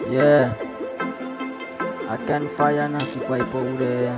Yeah, I can fire nasi boy powder.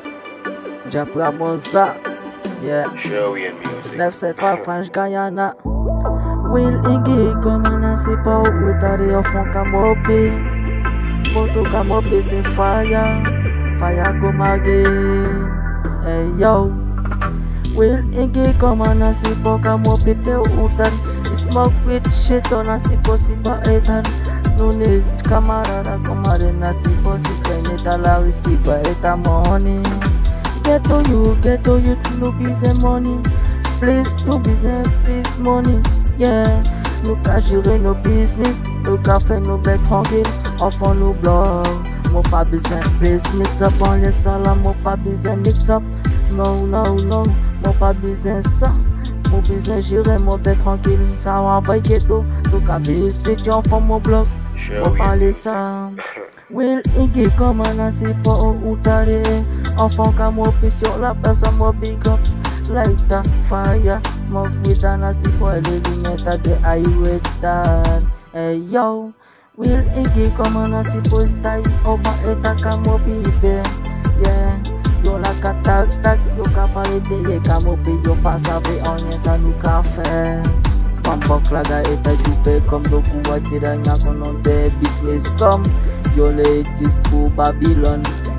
Japra Moza. Yeah, Joey and music. 973 French Guyana. Will Iggy comme un nasi powder au fond kamopi. Moto kamopi c'est fire. Fire come again. Hey yo. Will Iggy comme un nasi powder kamopi pe utan. Smoke with shit on nasi possible etan. Nunes camarada comadre nasi possible neta la reciba eta money. Get to you to no business money. Please no business, please money. Yeah, nous qu'à gérer nos business, nous qu'à faire nos bêtes tranquilles, enfants nous blog. Moi pas besoin, please mix up on les salades, moi pas besoin mix up. Non, moi pas besoin ça. Mon besoin gérer mon bête tranquille, ça va pas ghetto. Nous qu'à business, enfants mon blog. Moi parler ça. Will Iggy comme un nasi pour outare. Enfant qu'à moi sur la place à moi big up. Light a fire, smoke with a nasi pour les lunettes à des highway dad. Hey yo, Will Iggy comme un nasi pour style. Au bas et à qu'à moi bibé. Yeah, yo la katak tak, yo ka parler de qu'à moi yo pas savoir on y ça nous qu'a fait. Pampok laga eta jupe comme doku watiranya konon de business comme yo les dispo Babylon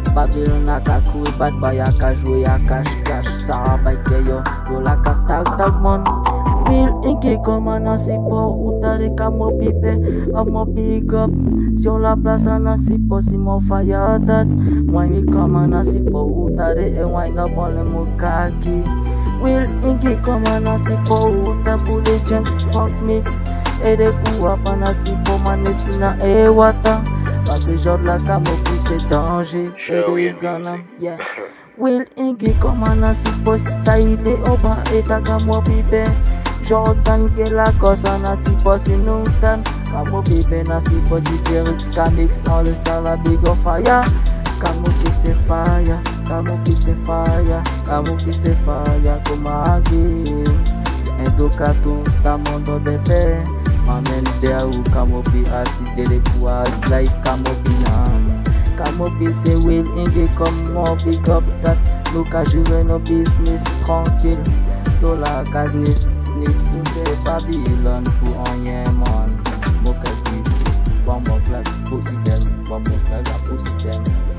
aka kouri bat bay aka jouer aka cash ça bay ke yo la katak tak mon Will Iggy comme un nasi po utare kamo pipe amo big up sur la place un nasi po si mon fire dat moi mi comme un nasi po utare e wine up on le mukaki Will Iggy comme un nasi po uta pour les gens fuck me et des coups à pas nasi po manesina e wata parce que genre la camoufle c'est danger et des gana yeah Will Iggy comme un nasi po style au bas et ta camo pipe Jordan que la cosa nasi po sinutan camo pipe nasi po Diterix Camix all the sala big of fire camo pipe c'est fire camo pipe c'est fire camo pipe c'est fire comme agui educato ta mondo de paix Mamen there who camo pipe arti de quoi life camo pipe c'est Will Iggy comme moi big up that look à gérer nos business tranquille Dola business sneak to the Babylon pour rien man Mokati, one more class, pussy them, one more class, pussy them